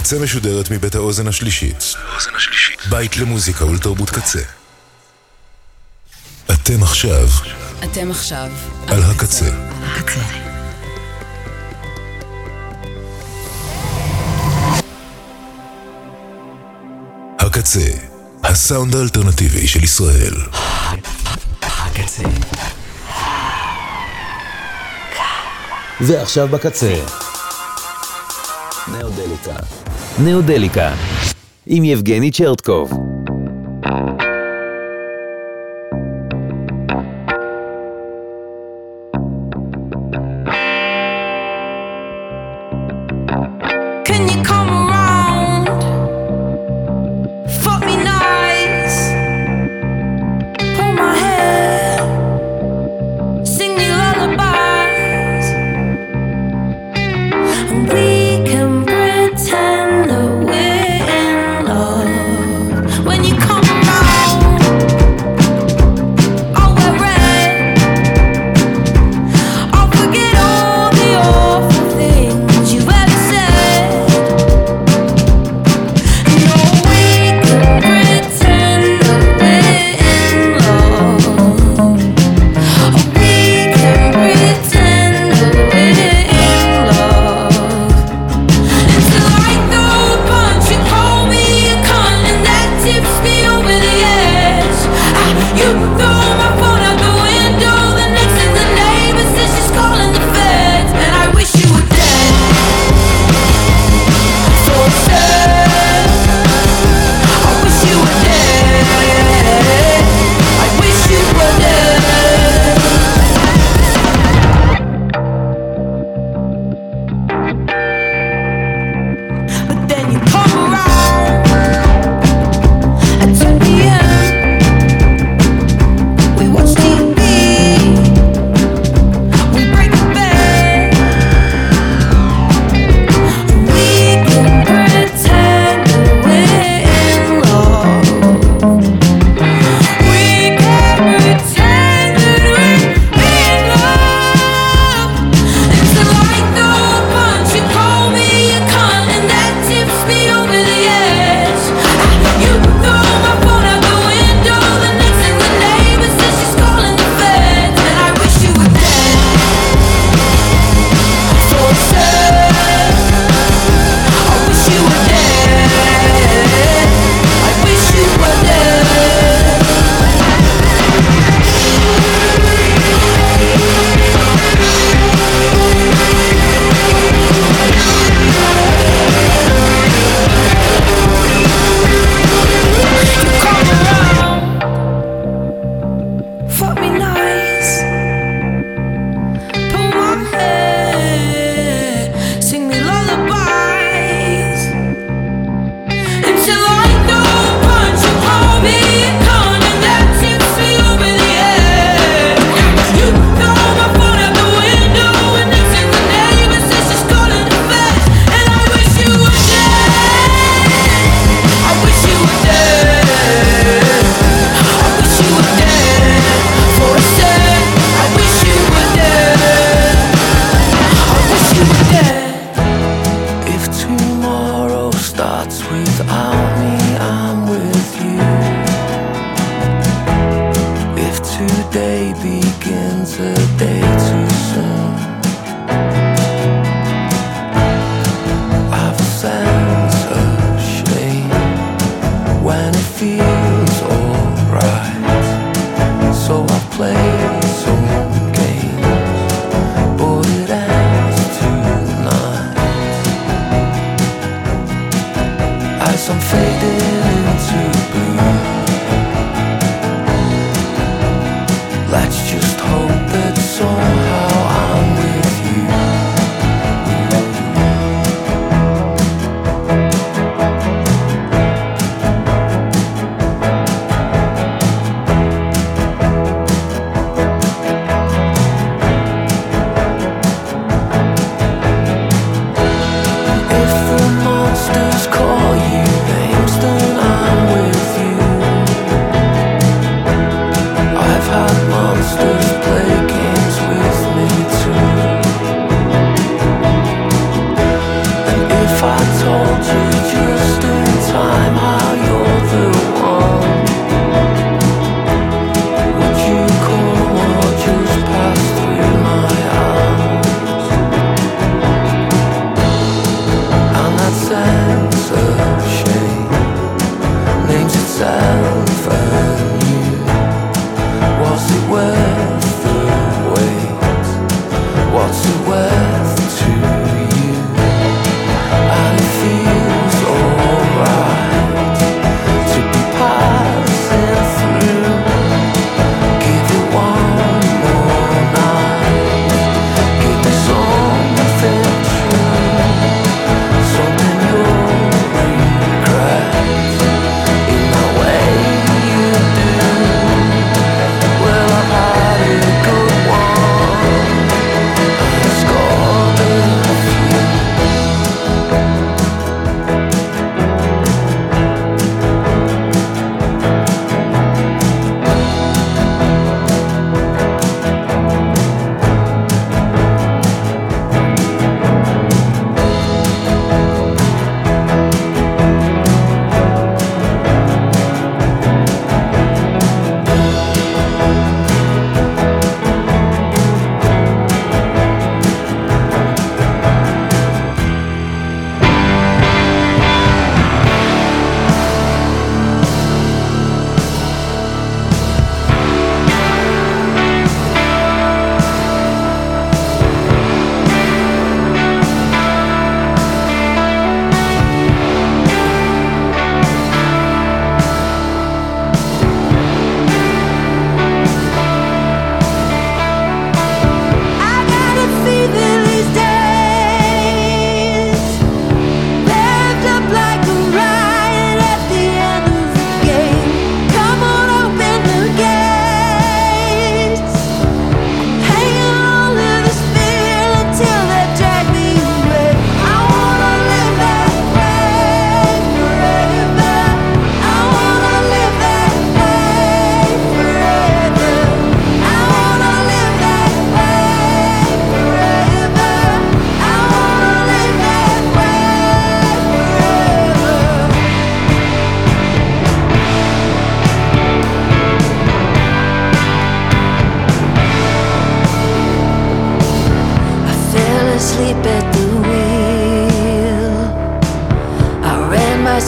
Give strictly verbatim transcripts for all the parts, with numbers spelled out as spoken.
הקצה משודרת מבית האוזן השלישית. בית למוזיקה ולתרבות קצה. אתם עכשיו. אתם עכשיו. על הקצה. הקצה. הקצה. הסאונד האלטרנטיבי של ישראל. הקצה. ועכשיו בקצה. נאודליקה. נאודליקה. עם יבגני צ'רטקוב. I'll forget all the awful things you've ever said.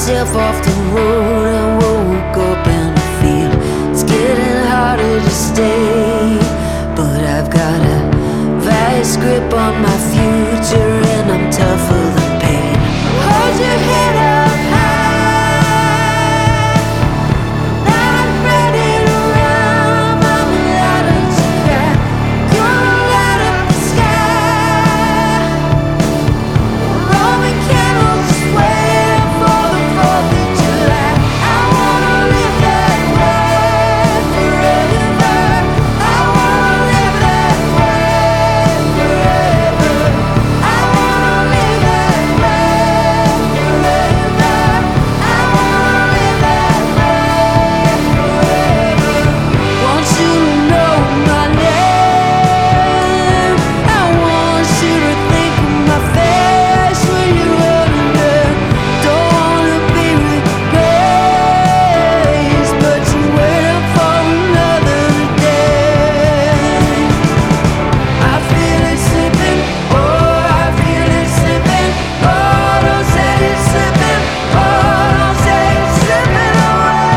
myself off the road and woke up and I feel it's getting harder to stay. But I've got a vice grip on my future and I'm tougher than pain. Hold your head up high. Now I'm ready to run. I'm louder to cry. Gonna light up the sky. Roman candles waiting for the fourth of July. I wanna live that way forever. I wanna live that way forever. I wanna live that way forever. I wanna live that way forever. Want you to know my name. I want you to think of my face when you're running. Don't wanna be replaced, but you're waiting for another day. I feel it slipping, oh, I feel it slipping. Oh, don't say it's slipping, oh, don't say it's slipping away.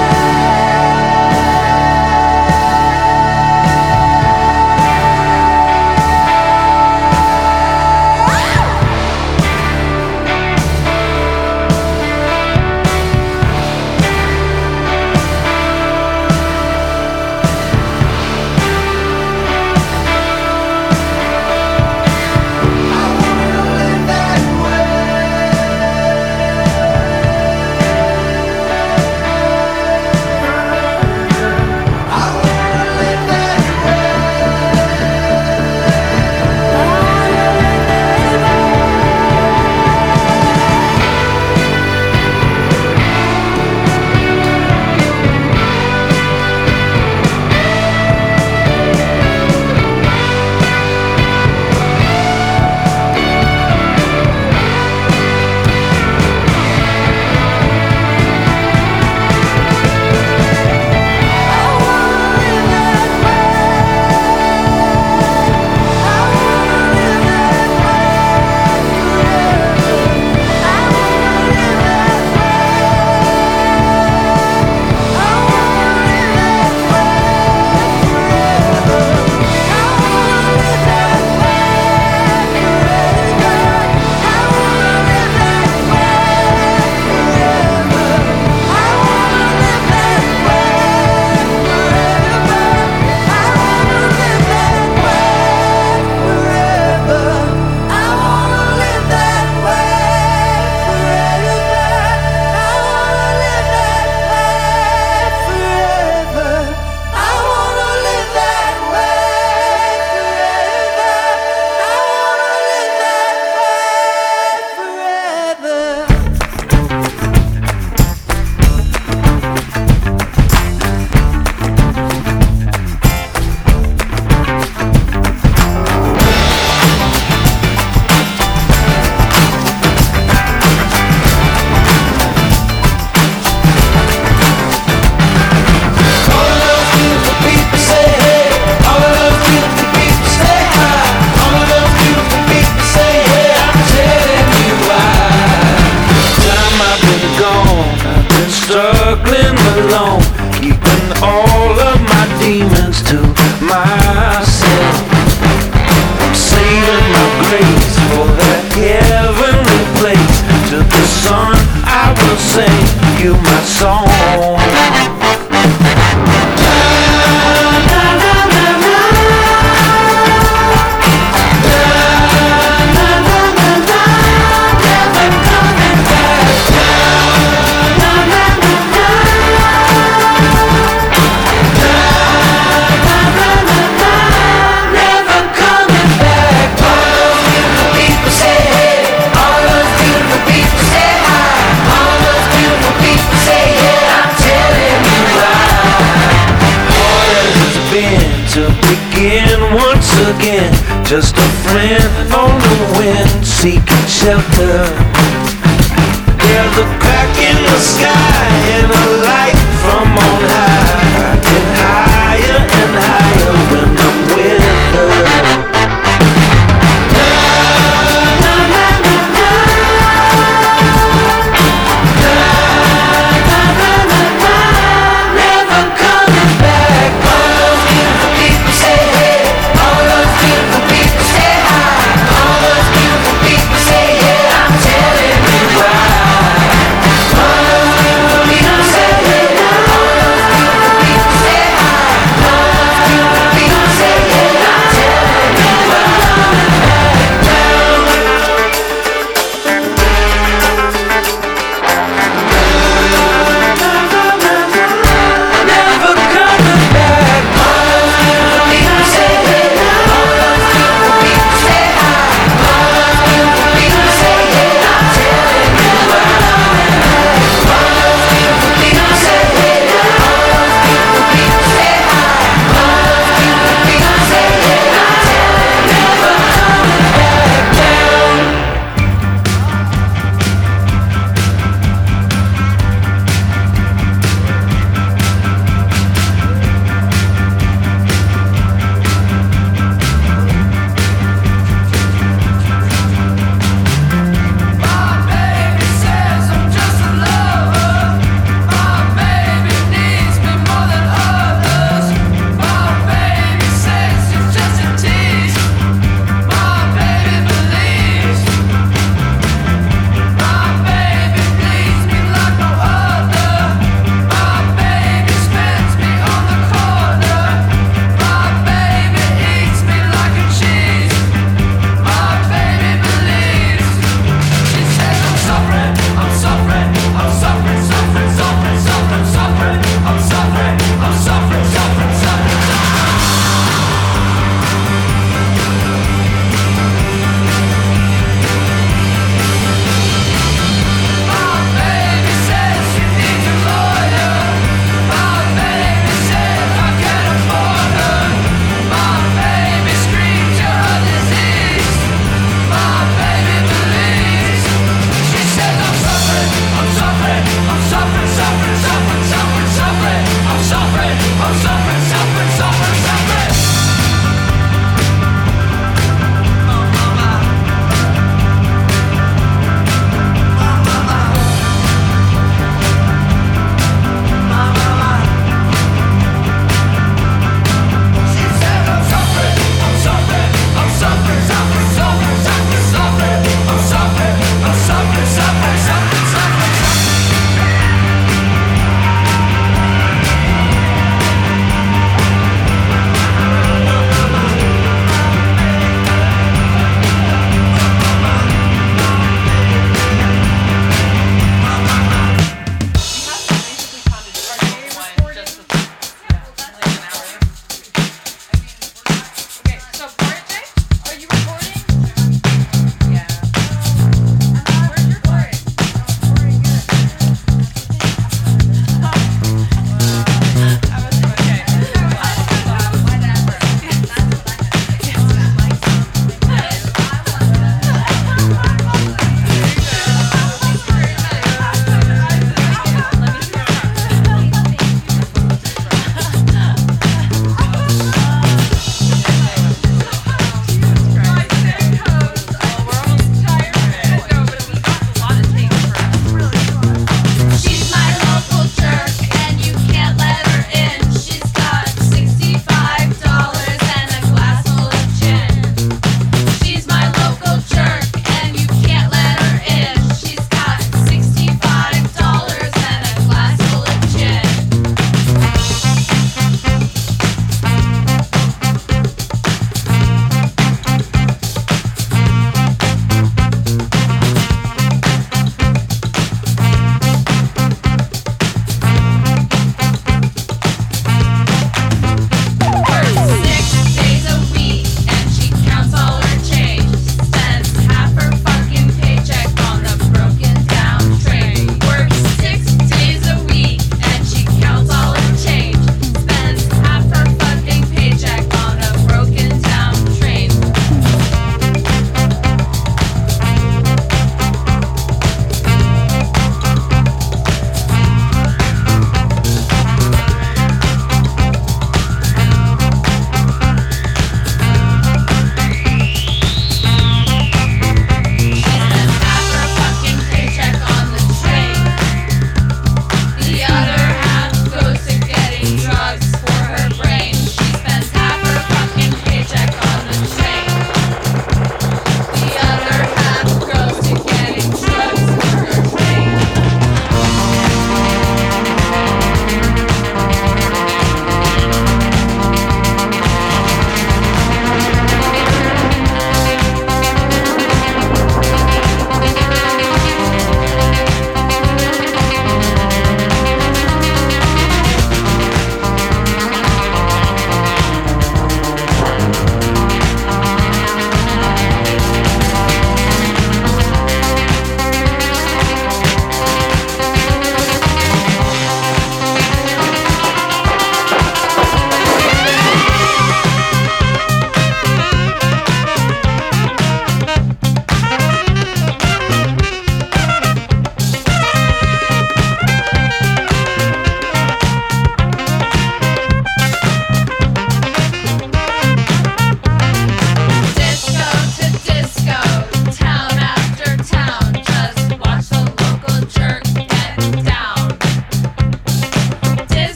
Struggling alone, keeping all of my demons to myself. I'm saving my grace for that heavenly place. To the sun I will sing you my song. Once again, just a friend on the wind, seeking shelter. There's a crack in the sky and a light from on high, and higher and higher when I'm with her. Na, na, na, na, na. Na,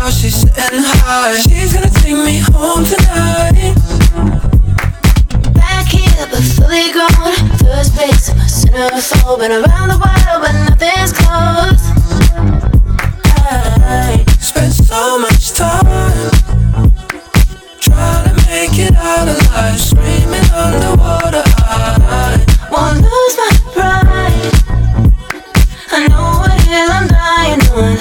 now she's sitting high. She's gonna take me home tonight. Back here, but fully grown. First place, I'm a centerfold. Been around the world, but nothing's close. I spent so much time trying to make it out alive, screaming underwater. I won't lose my pride. I know what hill I'm dying on.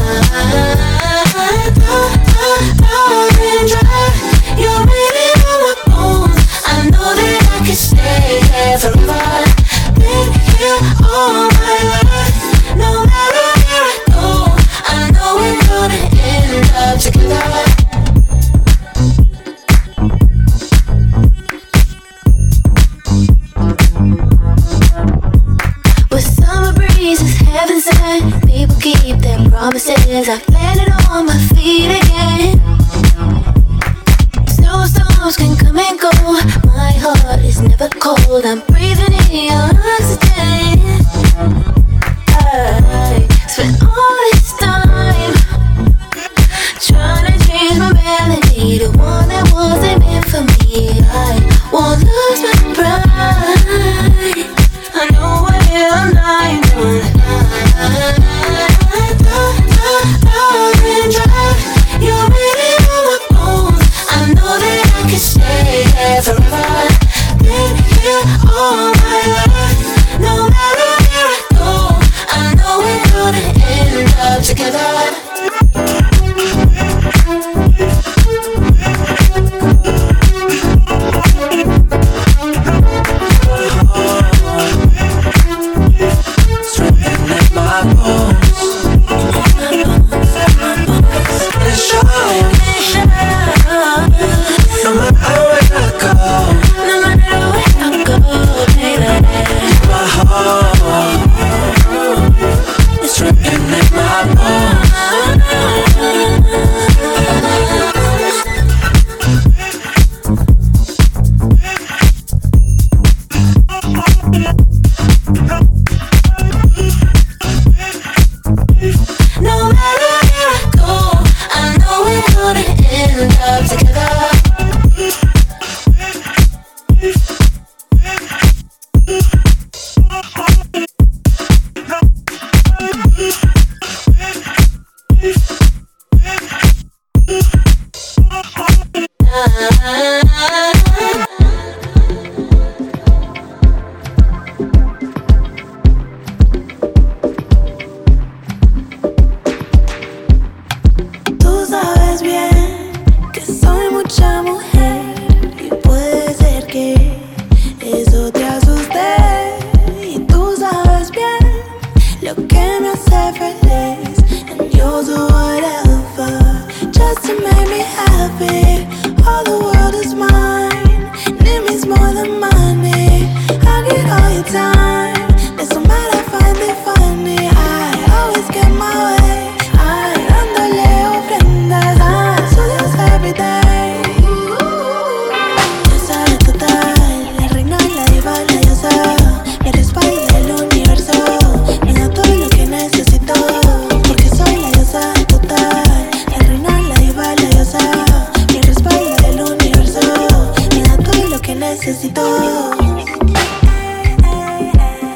Darling, dry. You're waiting on my bones. I know that I can stay here forever. Been here all my life. No matter where I go, I know we're gonna end up together. Heaven sent, people keep their promises. I've landed on my feet again. Snowstorms can come and go. My heart is never cold. I'm breathing in your oxygen. I spent all this time trying to change my melody to one that wasn't meant for me. I won't lose my pride. I know what hill I'm dying on. Darling, dry. You're waiting on my bones. I know that I can stay here forever. Been here all my life. No matter where I go, I know we're gonna end up together. Necesito.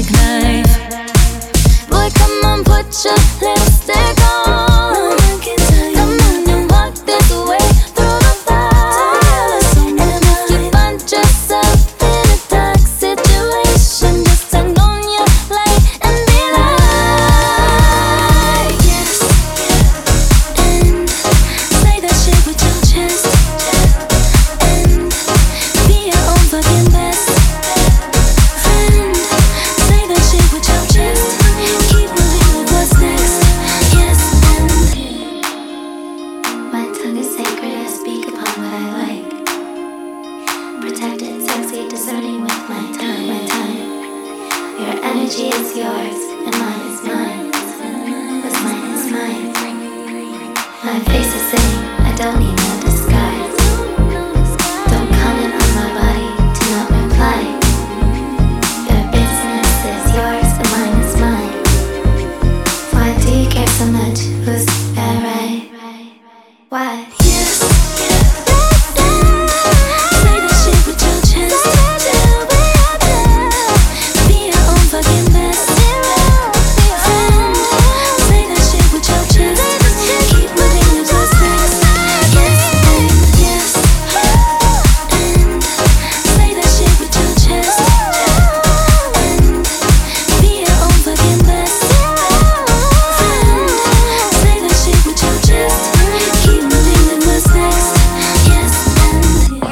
knife. Boy, come on, put your lipstick on. Come on and walk this way through the fire. And if you find yourself in a dark situation, just turn on your light and be like, yes, and say that shit with your chest, and be your own fucking best friend. Say that shit with your chest, keep moving with what's next. Yes, and my tongue is sacred, I speak upon what I like. Protected, sexy, discerning with my time, my time. Your energy is yours, and mine is mine. What's mine is mine. My face is saying, I don't need no disguise. Don't comment on my body, do not reply. Your business is yours, and mine is mine. Why do you care so much? Who's that right? Why? Yes. Say that shit with your chest. Be your own fucking best friend. Say that shit with your chest. Keep moving with what's next. Yes, and yes, and say that shit with your chest. And be your own fucking best friend. Say that shit with your chest. Keep moving with what's next. Yes, and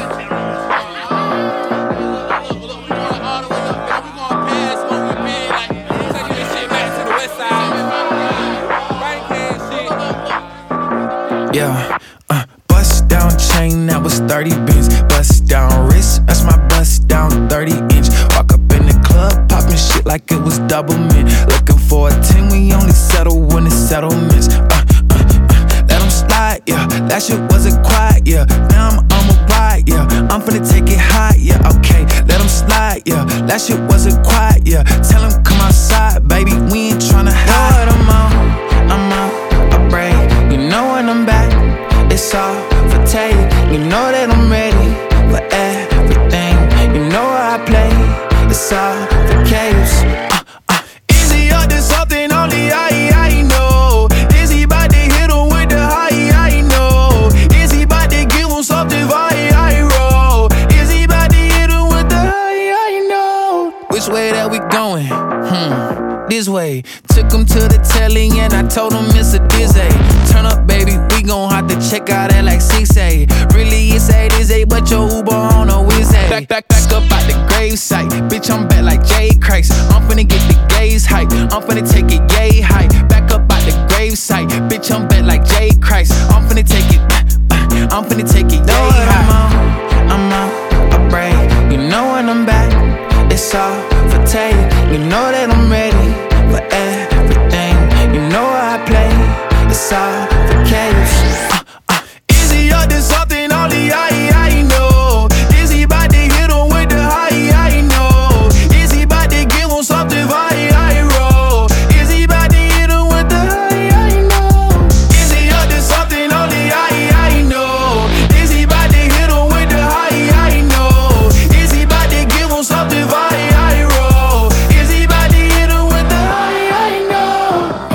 Yeah, uh, bust down chain, that was thirty bins. Bust down wrist, that's my bust down thirty inch. Walk up in the club, popping shit like it was double mint. Looking for a ten, we only settle when it's settlements. Uh, uh, uh, let them slide, yeah, that shit wasn't quiet, yeah. Now I'm on a ride, yeah, I'm finna take it high, yeah, okay. Let them slide, yeah, that shit wasn't quiet, yeah. Tell them come outside, baby, we ain't tryna hide. I'm out, I'm out, I break. You know when I'm back, it's all for take. You know that I'm ready for everything. You know how I play, it's all for caves. Uh, uh. Is he up to something only I, I know? Is he about to hit him with the high, I know? Is he about to give him something I, I roll? Is he about to hit him with the high, I know? Which way that we going? Hmm. This way, took him to the telly and I told him it's a dizzy. Turn up, baby, we gon' have to check out at like six A. Really, it's eight is eight, but your Uber on a whiz A. Back, back, back up out the gravesite. Bitch, I'm back like Jay Christ. I'm finna get the gaze hype. I'm finna take it yay high. Back up out the gravesite. Bitch, I'm back like Jay Christ. I'm finna take it, uh, uh, I'm finna take it yay high. I'm out, I'm out, I break. You know when I'm back, it's all for take. You know that I'm ready for everything. You know how I play, it's all for caves. Uh, uh. Is he up to something only I, I know? Is he about to hit him with the high, I know? Is he about to give him something I, I roll? Is he about to hit him with the high, I know? Is he up to something only I, I know? Is he about to hit him with the high, I know? Is he about to give him something I, I roll? Is he about to hit him with the high, I know?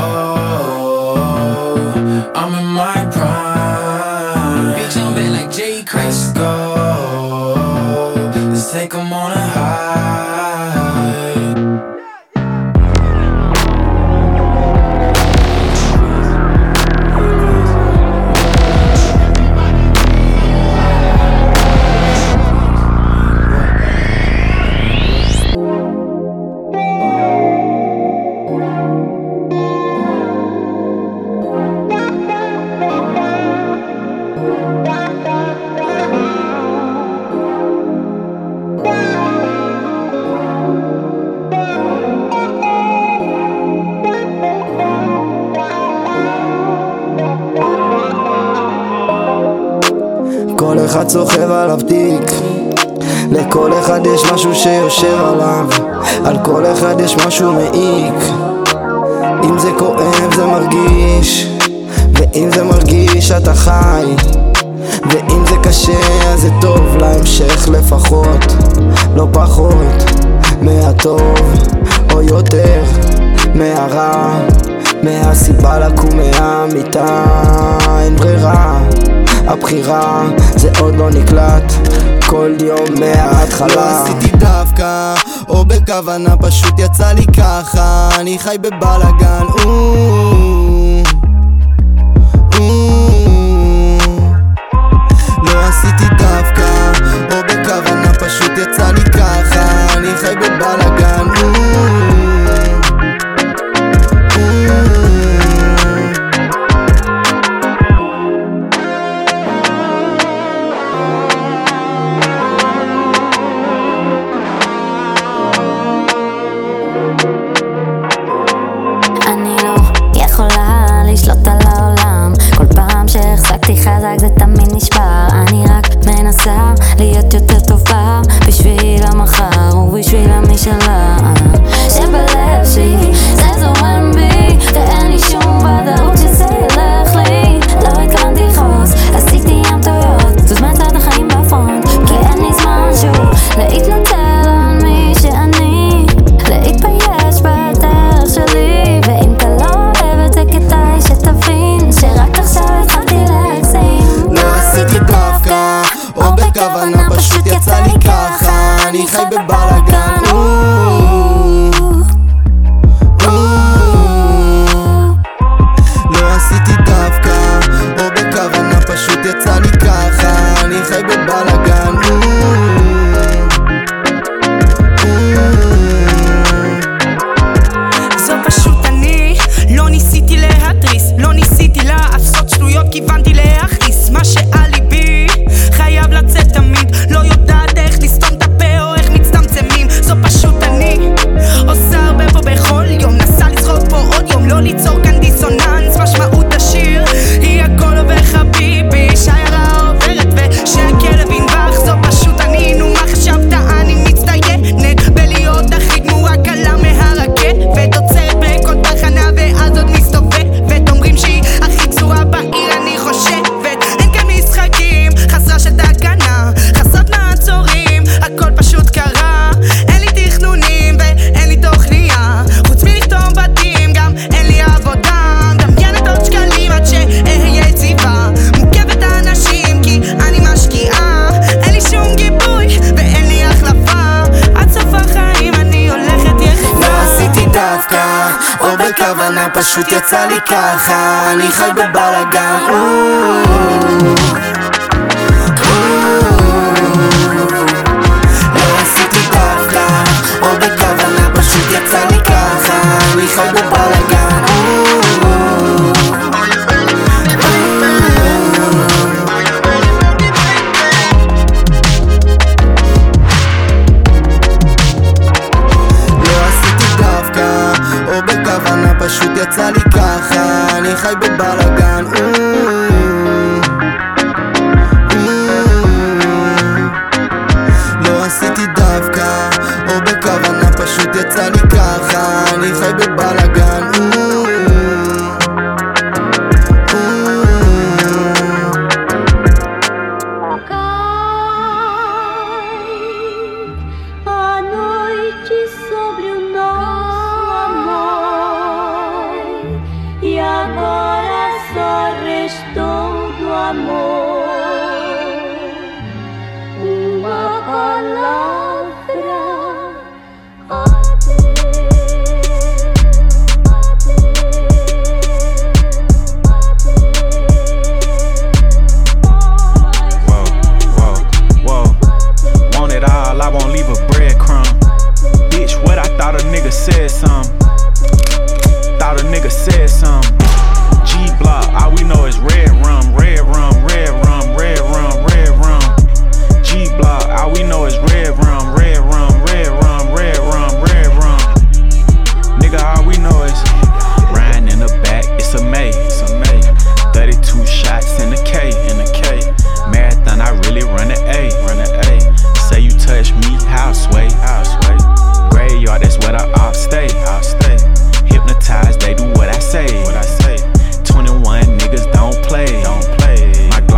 Oh, I'm in my prime. Bitch, I'm back like Jay Christ. Let's go. Let's take him on a high. כל אחד סוחב עליו תיק, לכל אחד יש משהו שיושב עליו, על כל אחד יש משהו מעיק. אם זה כואב זה מרגיש, ואם זה מרגיש אתה חי, ואם זה קשה אז זה טוב להמשך לפחות, לא פחות מהטוב. או יותר מהרע, מהסיבה לקום מהמיטה. אין ברירה, הבחירה זה עוד לא נקלט, כל יום מההתחלה. לא עשיתי דווקא או בכוונה, פשוט יצא לי ככה, אני חי בבלגן. לא עשיתי דווקא או בכוונה, פשוט יצא לי ככה, אני חי בבלגן. אני לא יכולה לשלוט על העולם, כל פעם שהחזקתי חזק זה תמיד נשבר. אני רק מנסה להיות יותר טובה בשביל המחר ובשביל המשאלה שבלב שלי זה זורם בי, ואין לי שום ודאות שזה ילך לי. לא התכוונתי לכעוס, עשיתי ים טעויות, זוז מהצד החיים בפרונט, כי אין לי זמן שוב להתנצל על מי שאני, להתבייש בדרך שלי. ואם אתה לא אוהב את זה כדאי שתבין שרק עכשיו התחלתי להגזים. לא עשיתי דווקא או בכוונה, פשוט יצא לי ככה, אני חי בבלגן. לא עשיתי דווקא או בכוונה, פשוט יצא לי ככה, אני חי בבלגן. זו פשוט אני, לא ניסיתי להתריס, לא ניסיתי לעשות שטויות, כיוונתי להכניס מה שעל ליבי, חייב לצאת תמיד, לא יודעת איך לסתום את הפה או איך מצטמצמים. זו פשוט אני, עושה הרבה פה בכל יום, נסה לזרוק פה עוד יום, לא ליצור כאן דיסוננס. משמעות השיר היא הכל עובר חביבי, שיירה עוברת ושהכלב ינבח. זו פשוט אני, נו מה חשבת, אני מצטיינת בלהיות הכי גמורה קלה מהרכבת, עוצרת בכל תחנה ואז עוד מסתובבת, אומרים שהיא הכי גזורה בעיר, אני חושבת אין כאן משחקים, חסרה של תקנה, חסרת מעצורים, הכל פשוט קרה. אין לי תכנונים ואין לי תוכניה, חוץ מלכתוב בתים גם אין לי עבודה, מדמיינת עוד שקלים עד שאהיה יציבה, מוקפת אנשים כי אני משקיעה, אין לי שום גיבוי ואין לי החלפה, עד סוף החיים אני הולכת יחדה. לא עשיתי דווקא או בכוונה, פשוט יצא לי ככה, אני חי בבלגן. לא עשיתי דווקא או בכוונה, פשוט יצא לי ככה, אני חי בבלגן. פשוט יצא לי ככה, אני חי בבלגן. לא עשיתי דווקא או בכוונה, פשוט יצא לי ככה, אני חי בבלגן. A noite sobre o nosso amor, e agora só restou do amor uma palavra: Whoa, whoa, whoa. Want it all, I won't leave a breadcrumb. Bitch, what I thought a nigga said some. Thought a nigga said some. G-Block, all we know is red rum, red rum, red rum, red rum, red rum. G-Block, all we know is red rum, red rum, red rum, red rum, red rum. Nigga, all we know is riding in the back, it's a May, it's a May. thirty-two shots in the K, in the K. Marathon, I really run the A, run the A. Say you touch me, how sway, how sway. Graveyard, that's where the ops stay, ops stay. Hypnotized, they do what I say, what I say. twenty-one niggas don't play, don't play. My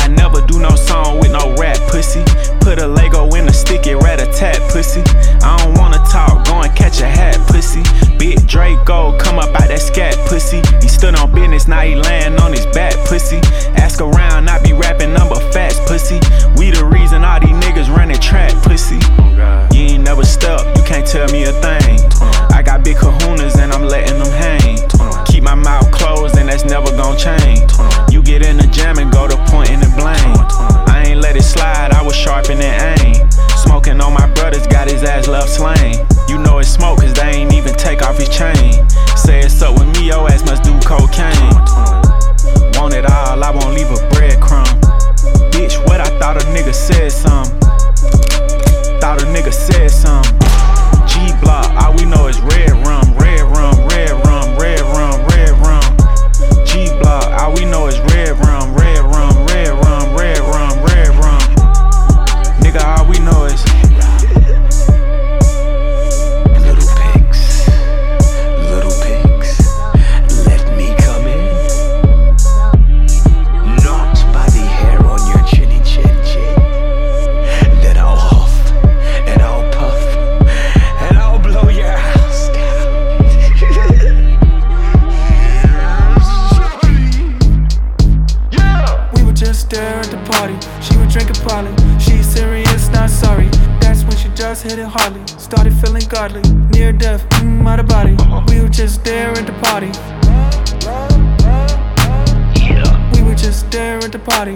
never do no song with no rap, pussy. Put a Lego in a sticky rat-a-tat, pussy. I don't wanna talk, go and catch a hat, pussy. Big Draco, come up out that scat, pussy. He stood on business, now he layin' on his back, pussy. Ask around, I be rapping number facts, pussy. We the reason all these niggas running track, pussy. You ain't never stepped, you can't tell me a thing. I got big kahunas and I'm letting them hang. Keep my mouth closed and that's never gon' change. You get in the jam and go to pointing and blame. I ain't let it slide, I was sharpening aim. Smoking on my brothers, got his ass left slain. You know it's smoke cause they ain't even take off his chain. Say it's up with me, your ass must do cocaine. Want it all, I won't leave a breadcrumb. Bitch, what I thought a nigga said something. Thought a nigga said something. G-Block, all we know is red rum, red rum, red rum, red rum, red rum. G-Block, all we know is red rum, red rum, red rum, red rum, red rum. Nigga, all we know is little pigs, little pigs, let me come in. Not by the hair on your chinny chin chin. Then I'll huff and I'll puff and I'll blow your house down. We would just stare at the party. She would drink a poly. She's serious, not sorry. That's when she just hit it hardly. Started feeling godly. Near death, mm, out of body. We would just stare at the party. We would just stare at the party.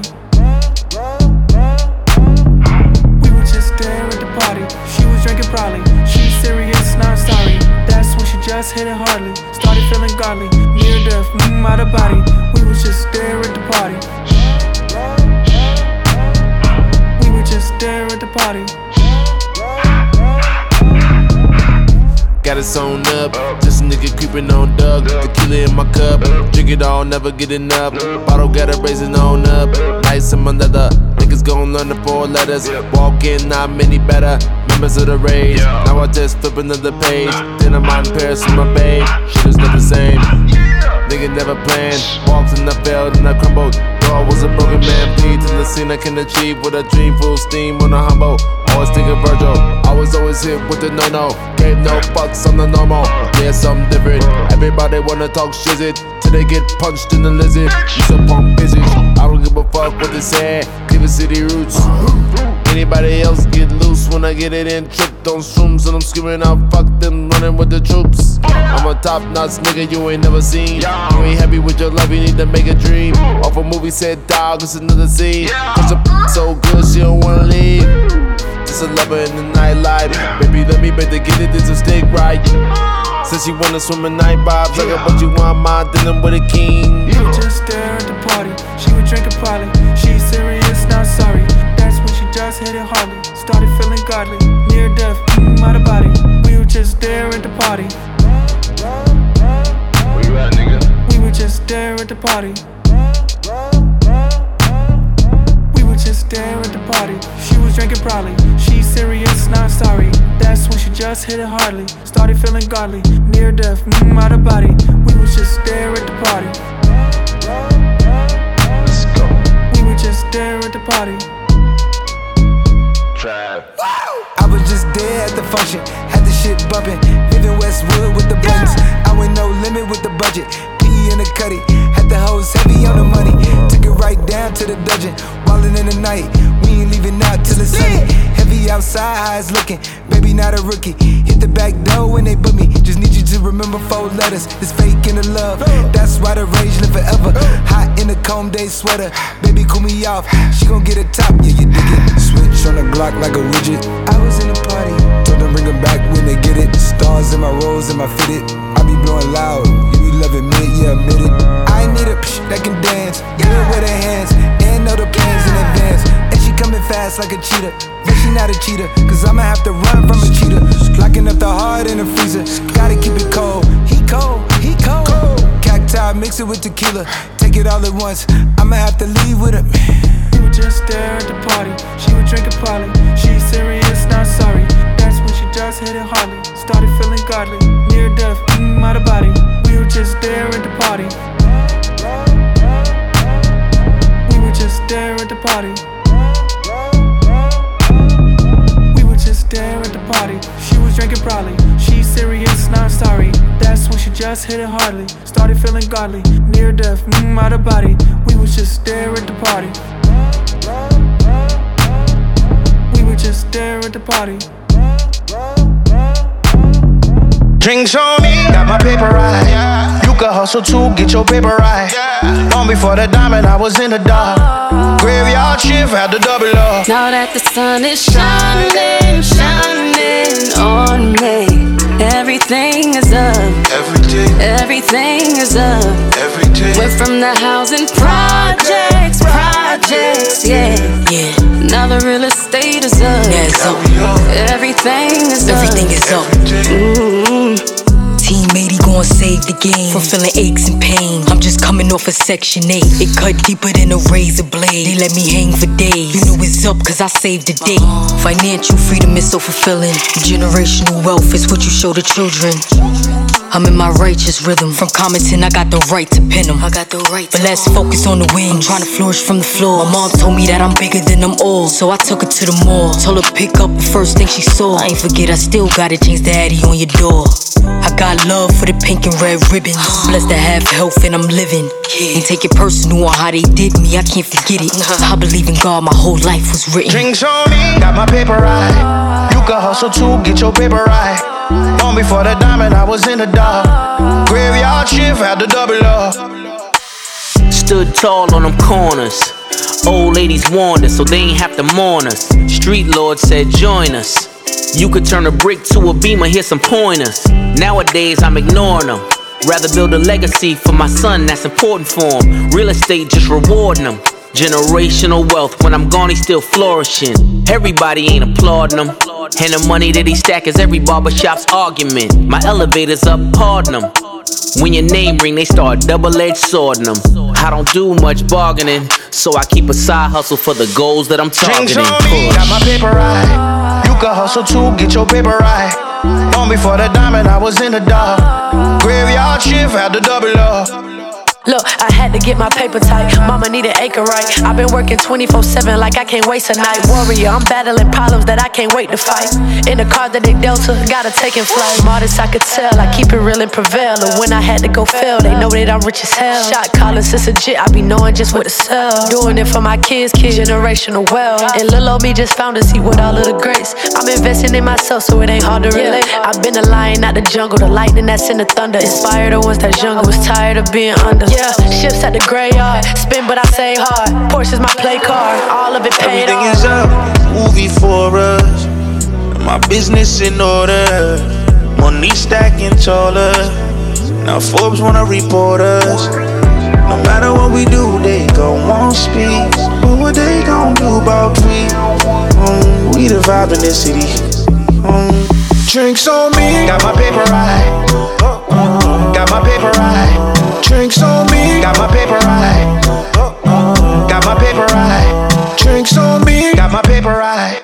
We would just stare at the party. She was drinking probably. She's serious, not sorry. That's when she just hit it hardly. Started feeling godly. Near death, mm, out of body. We would just stare at the party. We would just stare at the party. Got it sewn up, just a nigga creeping on Doug. Tequila in my cup, drink it all, never get enough. Bottle got it raising on up, nice in my leather. Niggas gon' learn the four letters. Walk in, not many better. Members of the rage. Now I just flip another page. Then I'm out in Paris with my babe. Shit is never the same. Nigga never planned. Walked and I failed and I crumbled. Though I was a broken man, plead to the scene I can achieve with a dream full steam on a humble. Always thinking Virgil, always always hit with the no-no. Gave no fucks on the normal, yeah, something different. Everybody wanna talk shit till they get punched in the lizard. You so punk busy, I don't give a fuck what they say. Cleveland City roots. Anybody else get loose when I get it in. Tripped on shrooms and I'm screaming out, fuck them, running with the troops. I'm a top-notch nigga you ain't never seen. You ain't happy with your love, you need to make a dream. Off a movie said dog, it's another scene. Cause your so good she don't wanna leave. Just a lover in the nightlife. Baby, let me bet to get it, this a stick right. Says she wanna swim in night vibes. Like what you want, my dealing with a king. You would just stare at the party. She would drink a poly. She's serious, not sorry. That's when she just hit it hardly. Started feeling godly. Near death, mm, out of body. We would just stare at the party. Where you at, nigga? We would just stare at the party. We would just stare at the party. She was drinking probably. She's serious, not sorry. That's when she just hit it hardly. Started feeling godly. Near death, mm, out of body. We would just stare at the party. Let's go. We would just stare at the party. Trap. I was just there at the function, had the shit bumping. Living Westwood with the buttons. I went no limit with the budget. P in the cutty, had the hoes heavy on the money. Took it right down to the dungeon. Wildin' in the night, we ain't leaving out till it's sunny. Heavy outside, how it's looking. Baby, not a rookie. Hit the back door when they book me. Just need you to remember four letters. It's fake in the love. That's why the rage live forever. Hot in the comb day sweater. Baby, cool me off. She gon' get a top, yeah, you dig it. Switch on the Glock like a widget. I was in the party. Told them bring them back when they get it. Stars in my rolls and my fitted. I be blowing loud. You be loving me, yeah, admit it. I need a psh that can dance. Good with her hands. And know the plans in advance. And she coming fast like a cheetah. But she not a cheater, cause I'ma have to run from a cheetah. Locking up the heart in the freezer. Gotta keep it cold. He cold, he cold. Cacti, mix it with tequila. Take it all at once. I'ma have to leave with it. We would just stare at the party. She would drink a poly. She's serious, not sorry. That's when she just hit it hardly. Started feeling godly. Near death, mm, out of body. We would just stare at the party. We would just stare at the party. party. We were just there at the party. She was drinking probably. She's serious, not sorry. That's when she just hit it hardly. Started feeling godly, near death, mmm, out of body. We was just there at the party. We were just there at the party. Drinks on me, got my paper right. Yeah. You can hustle too, get your paper right. Yeah. Long before the diamond, I was in the dark. Graveyard shift, had to double up. Now that the sun is shining, shining on me, everything is up. Everything, everything is up. Everything. Went from the housing projects, projects, yeah, yeah. Now the real estate is up. Yeah, it's up. Everything is up. Everything is up. Mm-hmm. Team eighty gon' save the game from feeling aches and pain. I'm just coming off of section eight. It cut deeper than a razor blade. They let me hang for days. You know it's up cause I saved the day. Financial freedom is so fulfilling. Generational wealth is what you show the children. I'm in my righteous rhythm. From commenting, I got the right to pin them. I got the right to. But let's focus on the win. I'm trying to flourish from the floor. My mom told me that I'm bigger than them all, so I took her to the mall. Told her pick up the first thing she saw. I ain't forget, I still gotta change the Addy on your door. I got love for the pink and red ribbons. Blessed to have health and I'm living. Ain't take it personal on how they did me, I can't forget it. I believe in God, my whole life was written. Drinks on me, got my paper right. You can hustle too, get your paper right. Long before the diamond, I was in the dark. Graveyard shift, had to double up. Stood tall on them corners. Old ladies warned us, so they ain't have to mourn us. Street lord said join us. You could turn a brick to a beamer, here's some pointers. Nowadays I'm ignoring them. Rather build a legacy for my son, that's important for him. Real estate just rewarding him. Generational wealth, when I'm gone, he's still flourishing. Everybody ain't applauding him. And the money that he stack is every barbershop's argument. My elevator's up, pardon him. When your name ring, they start double-edged swording them. I don't do much bargaining, so I keep a side hustle for the goals that I'm targeting. Drinks on me, got my paper right. You can hustle too, get your paper right. Long before the diamond, I was in the dark. Graveyard shift, had to double up. Look, I had to get my paper tight. Mama need an acre right. I've been working twenty-four seven like I can't waste a night. Warrior, I'm battling problems that I can't wait to fight. In the car that they Delta, gotta take in flight. Modest, I could tell, I keep it real and prevail. And when I had to go fail, they know that I'm rich as hell. Shot calling since legit, I be knowing just what to sell. Doing it for my kids, kids, generational wealth. And little old me just found a seat with all of the grace. I'm investing in myself, so it ain't hard to relate. I've been a lion out the jungle, the lightning that's in the thunder. Inspired the ones that jungle, was tired of being under. Yeah, ships at the graveyard, spin but I say hard. Porsche's my play card, all of it paid Everything off. is up, movie for us. My business in order, money stacking taller. Now Forbes wanna report us. No matter what we do, they gon' want speak. But what they gon' do about we? Um, we the vibe in this city. Um, drinks on me, got my paper right. Got my paper right. Drinks on me, got my paper right. Got my paper right. Drinks on me, got my paper right.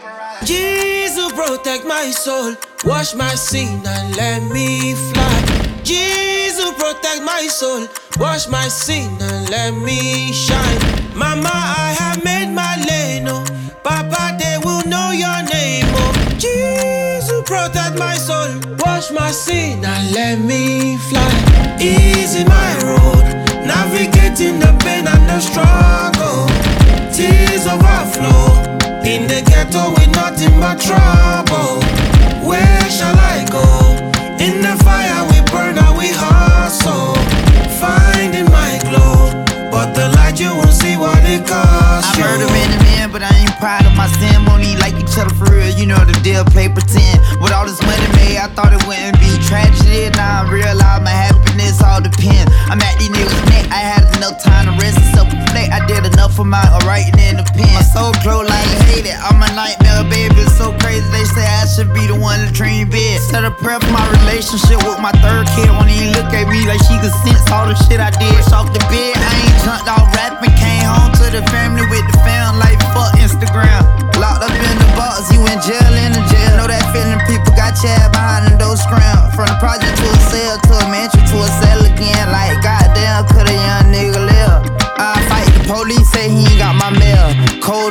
Jesus protect my soul, wash my sin and let me fly. Jesus protect my soul, wash my sin and let me shine. Mama, I have made my lane, oh. Papa, they will know your name, oh. Jesus protect my soul, wash my sin and let me fly. Easy my road, navigating the pain and the struggle. Tears overflow, in the ghetto with nothing but trouble. Where shall I go? In the fire we burn and we hustle. Finding my glow, but the light you won't see what it costs you. I murder many men, but I ain't proud of my sin. Won't eat like each other for real, you know the deal, play pretend. With all this money made, I thought it wouldn't be tragedy. Now I realize my happiness all depends. I'm at these niggas' neck, I had enough time to rest and self-reflect. I did enough for my writing in the pen. My soul glow like hate it, I'm a nightmare, baby. It's so crazy, they say I should be the one to dream big. Set a prayer for my relationship with my third kid. Won't even look at me like she could sense all the shit I did. Off the bed, I ain't jumped off rapping. Came home to the family with the fam like fuck Instagram. Locked up in the box, you in jail, in the jail. Know that feeling, people got chair behind them those scram. From the project to a cell, to a mansion, to a cell again. Like goddamn, could a young nigga live? I fight the police, say he ain't got my mail. Cold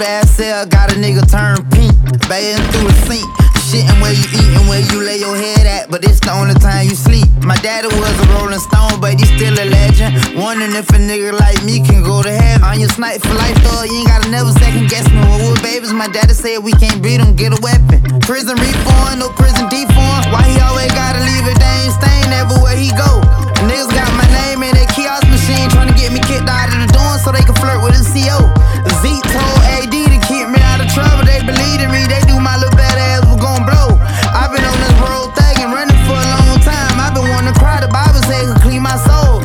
nigga turn pink, bathing through the sink. Shitting where you eatin', where you lay your head at, but it's the only time you sleep. My daddy was a Rolling Stone, but he's still a legend. Wondering if a nigga like me can go to heaven. On your snipe for life, though, you ain't gotta never second guess me. When we were babies, my daddy said we can't beat him, get a weapon. Prison reform, no prison deform. Why he always gotta leave a dang stain everywhere he go? Niggas got my name in that kiosk machine, trying to get me kicked out of the dorm so they can flirt with a C O. Zeke told A D to keep me out of trouble. They believe in me, they knew my little bad ass was gon' blow. I've been on this road thuggin', running for a long time. I've been wanting to cry, the Bible says to clean my soul.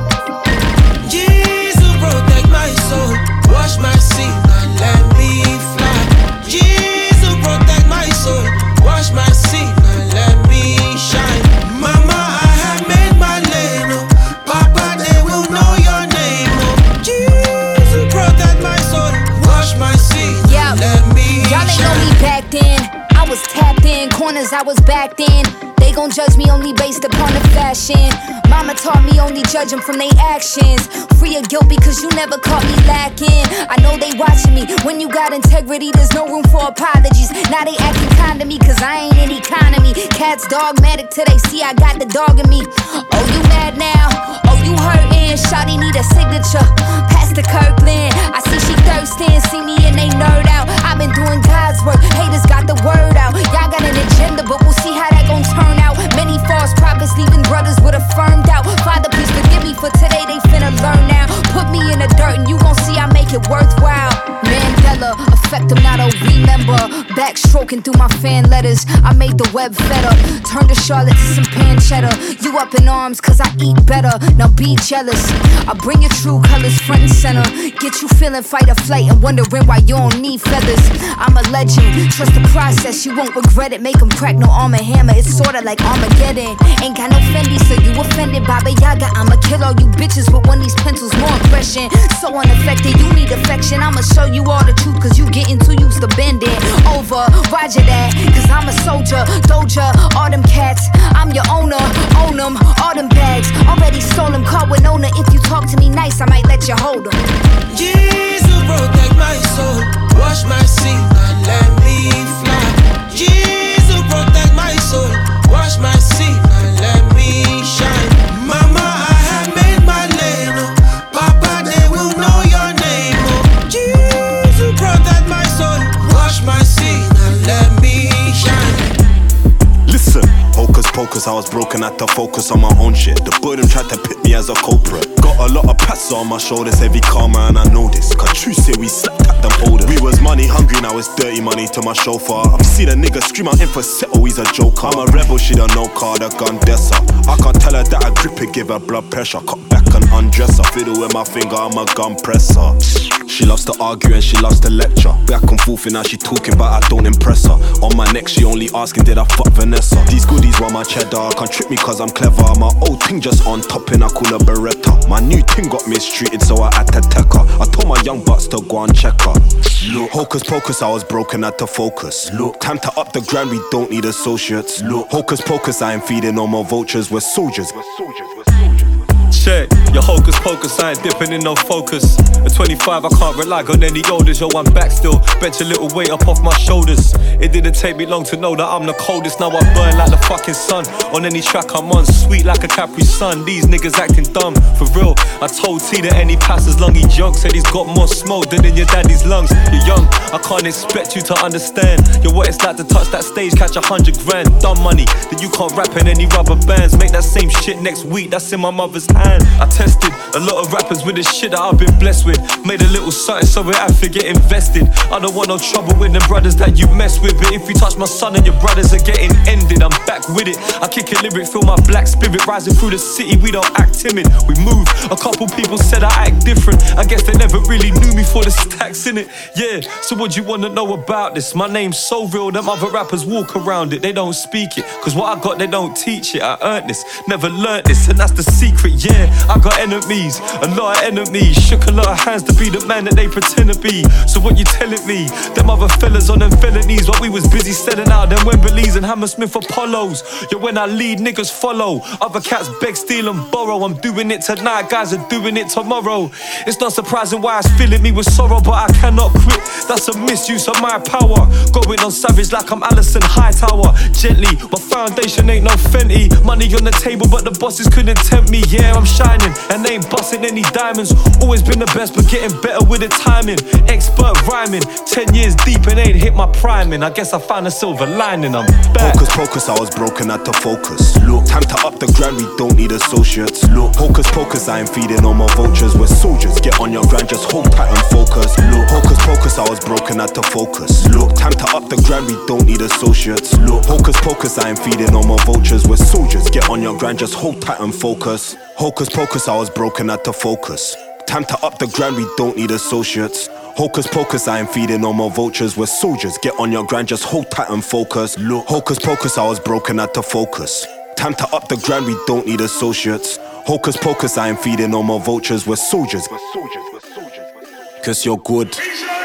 Jesus protect my soul, wash my sin and let me fly. Jesus protect my soul, wash my sin and let me shine. Mama, I have made my lane, oh. Papa, they will know your name, oh. Jesus protect my soul, wash my sin and let me Y'all ain't know shine. me back then. I was tapped in, corners I was backed in. They gon' judge me only based upon the fashion. Mama taught me only judge them from their actions. Free of guilt because you never caught me lacking. I know they watching me. When you got integrity, there's no room for apologies. Now they acting kind to me cause I ain't in economy. Cats dogmatic till they see I got the dog in me. Oh, you mad now? Oh, you hurtin'? Shawty need a signature. Pastor Kirkland, I see she thirstin'. See me and they nerd out. I've been doing God's work. Haters got the word out. Y'all got an agenda, but we'll see how that gon' turn out. Many false prophets leaving brothers with a firm doubt. Father, please forgive me for today, they finna learn now. Put me in the dirt and you gon' see I make it worthwhile. Mandela, affect them, not a remember. Backstroking through my fan letters, I made the web fed up. Turned to Charlotte to some pancetta. You up in arms cause I eat better, now be jealous. I bring your true colors front and center. Get you feeling fight or flight and wondering why you don't need feathers. I'm a legend, trust the process, you won't regret it. Make them crack, no arm and hammer, it's sorta like Armageddon. Ain't got no Fendi, so you offended, Baba Yaga. I'ma kill all you bitches with one of these pencils, more aggression. So unaffected, you need affection. I'ma show you all the truth, cause you getting too used to bending over. Roger that, cause I'm a soldier. Doja, all them cats, I'm your owner. Own them, all them bags, already stole them. Call Winona, if you talk to me nice, I might let you hold them. Jesus protect my soul, wash my sin and let me fly. Jesus protect my soul, wash my sin and let me shine. Mama, I have made my lane, oh. Papa, they will know your name, oh. Jesus protect my soul, wash my sin and let me shine. Listen, hocus pocus, I was broken, had to focus on my own shit. The burden tried to pit me as a culprit. Got a lot of pats on my shoulders, heavy karma, and I know this. Cause true say we slapped at them holders. We was money hungry, now it's dirty money to my chauffeur. I've seen a nigga scream out in for settle, he's a joker. I'm a rebel, she don't know car, the gun dresser. I can't tell her that I grip it, give her blood pressure. Cut back and undress her, fiddle with my finger, I'm a gun presser. She loves to argue and she loves to lecture. Back and forth and now she talking but I don't impress her. On my neck she only asking did I fuck Vanessa. These goodies want my cheddar, can't trick me cause I'm clever. My old thing just on top and I call her Beretta. My new thing got mistreated so I had to tech her. I told my young butts to go and check her. Look, hocus pocus, I was broken, had to focus. Look, time to up the grind, we don't need associates. Look, hocus pocus, I ain't feeding no more vultures, we're soldiers. We're soldiers, we're soldiers. Check, your hocus pocus, I ain't dipping in no focus. At twenty-five, I can't rely on any olders. Yo, I'm back still, bench a little weight up off my shoulders. It didn't take me long to know that I'm the coldest. Now I burn like the fucking sun. On any track I'm on, sweet like a Capri Sun. These niggas acting dumb, for real. I told T that any pass as long he junk. Said he's got more smoke than in your daddy's lungs. You're young, I can't expect you to understand. Yo, what it's like to touch that stage, catch a hundred grand. Dumb money, that you can't rap in any rubber bands. Make that same shit next week, that's in my mother's hand. I tested a lot of rappers with the shit that I've been blessed with. Made a little something so it have to get invested. I don't want no trouble with the brothers that you mess with. But if you touch my son and your brothers are getting ended, I'm back with it. I kick a lyric, feel my black spirit rising through the city. We don't act timid, we move. A couple people said I act different. I guess they never really knew me for the stacks in it. Yeah, so what you wanna know about this? My name's so real, them other rappers walk around it. They don't speak it, cause what I got they don't teach it. I earned this, never learnt this, and that's the secret. Yeah, I got enemies, a lot of enemies. Shook a lot of hands to be the man that they pretend to be. So what you telling me? Them other fellas on them felonies while we was busy selling out them Wembleys and Hammersmith Apollos. Yo, when I lead, niggas follow. Other cats beg, steal and borrow. I'm doing it tonight, guys are doing it tomorrow. It's not surprising why it's filling me with sorrow, but I cannot quit. That's a misuse of my power. Going on savage like I'm Alison Hightower. Gently, my foundation ain't no Fenty. Money on the table, but the bosses couldn't tempt me. Yeah, I'm shining and ain't busting any diamonds. Always been the best, but getting better with the timing. Expert rhyming, ten years deep and ain't hit my priming. I guess I found a silver lining, I'm back. Hocus pocus, I was broken, had to focus. Look, time to up the grind, we don't need associates. Look, hocus pocus, I ain't feeding all my vultures. We're soldiers, get on your grind, just hold tight and focus. Look, hocus pocus, I was broken, had to focus. Look, time to up the grind, we don't need associates. Look, hocus pocus, I ain't feeding all my vultures. We're soldiers, get on your grind, just hold tight and focus. Hocus pocus, I was broken, had to focus. Time to up the grind, we don't need associates. Hocus pocus, I ain't feeding all my vultures. We're soldiers, get on your grind, just hold tight and focus. Look, hocus pocus, I was broken, had to focus. Time to up the grind, we don't need associates. Hocus pocus, I ain't feeding all my vultures. We're soldiers, we're soldiers, we're soldiers, we're soldiers. Cause you're good.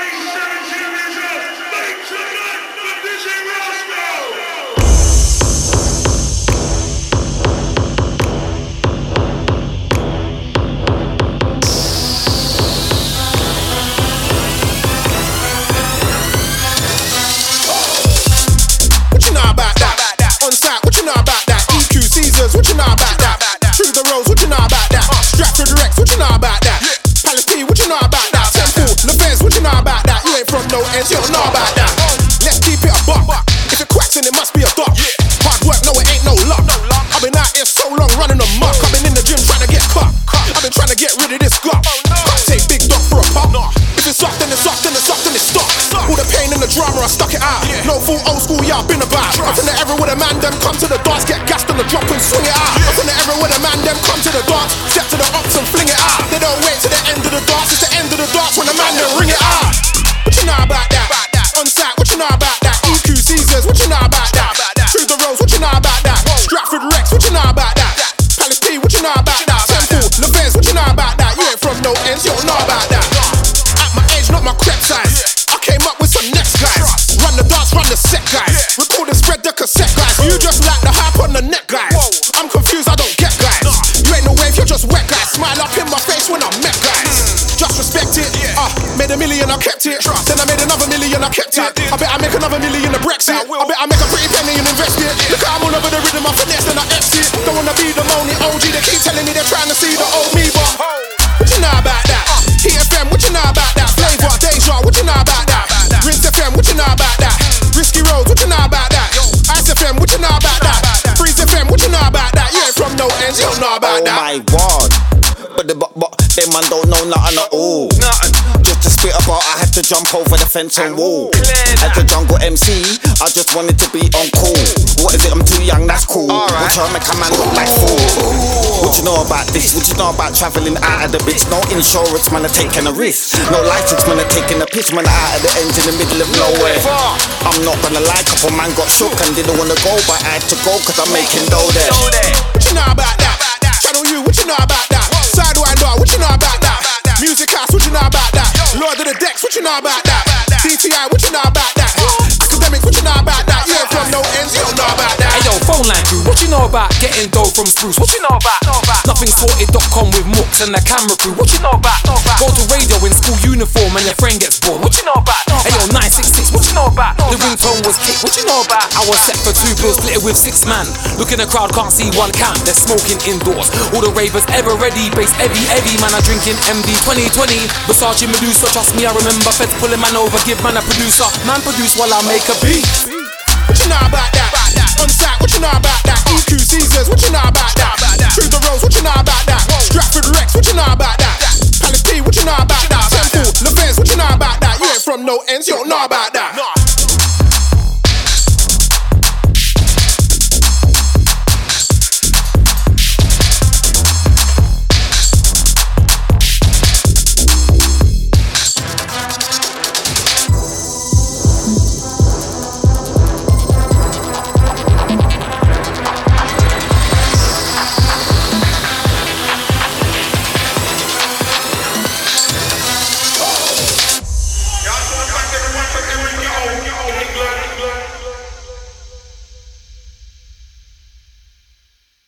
What you know about that? Through the roads, what you know about that? Stratford Rex, what you know about that? Palace P, what you know about that? Temple, Levez, what you know about that? You ain't from no ends, you don't know about that. Let's keep it a buck. If it cracks, then it must be a duck. Hard work, no, it ain't no luck. I've been out here so long running amok. I've been in the gym trying to get cut. I've been trying to get rid of this gut. Can't take big dog for a pop. If it's up, then it's up, then it's up, then it's stuck. All the pain and the drama, I stuck it out. No full old school, yeah, I've been about. I'm from the era where the man them come to the dance, get gassed on the drop and swing it out. I'm from the era where the man them come to the dance, step to the ups and fling it out. They don't wait to the end of the dance, it's the end of the dance when the man them ring it out. What you know about that? On site, what you know about that? E Q Caesars, what you know about that? Through the roads, what you know about that? Stratford Rex, what you know about that? Palace P, what you know about that? Temple, Levez, what you know about that? You ain't from no ends, you don't know about that. At my age, not my crep size. I came up with some next guys. Run the dance, run the set guys. Record and spread the cassette guys. You just like the hype on the neck guys. I'm confused, I don't get guys. You ain't no wave, you're just wet guys. Smile up in my face when I met guys. Just respect it. Uh, made a million, I kept it. Then I made another million, I kept it. I bet I make another million in Brexit. I bet I make a pretty penny and invest it. Look how I'm all over the rhythm, I finesse, then I exit. Don't wanna be the moaning O G. They keep telling me they're trying to see the old me, but what you know about that? T F M, what you know about that? Flavor, Deja, what you know about that? Rinse F M, what you know about that? Risky Roads, what you know about that? Ice F M, what you know about that? Freeze F M, what you know about that? You ain't from no ends, you don't know about that. Oh my word, but the but but them man don't know nothing at all. Nothing. Just to spit about, I had to jump over the fence and wall. As the jungle M C, I just wanted to be on call. What is it? I'm too young, that's cool. Which I make a man look like fool. What you know about this? What you know about travelling out of the bitch? No insurance, man, I'm taking a risk. No license, man, I'm taking a piss. Man, out of the ends in the middle of nowhere. I'm not gonna lie, couple man got shook and didn't wanna go, but I had to go cause I'm making dough there. What you know about that? Channel U, what you know about that? Sidewinder, what you know about that? Music House, what you know about that? Lord of the Decks, what you know about that? D T I, what you know about that? Academics, what you know about that? You ain't from no ends, you don't know about that. Hey yo, phone line crew, what you know about getting dough from Spruce? What you know about? Nothing sorted dot com with Mooks and the camera crew. What you know about? Go to radio in school uniform and your friend gets bored. What you know about? Hey yo, nine six six, what you know about? The ringtone was kicked, what you know about? I was set for two bills, split it with six man. Look in the crowd, can't see one camp, they're smoking indoors. All the ravers ever ready, bass heavy, heavy. Man, I drinking M D twenty twenty. Versace Medusa, trust me, I remember feds pulling man over, give man a producer. Man produce while I make a beat. What you know about that? On site, what you know about that? E Q Caesars, what you know about that? Through the roads, what you know about that? Stratford Rex, what you know about that? Palace P, what you know about that? Temple, Levez, what you know about that? You ain't from no ends, you don't know about that.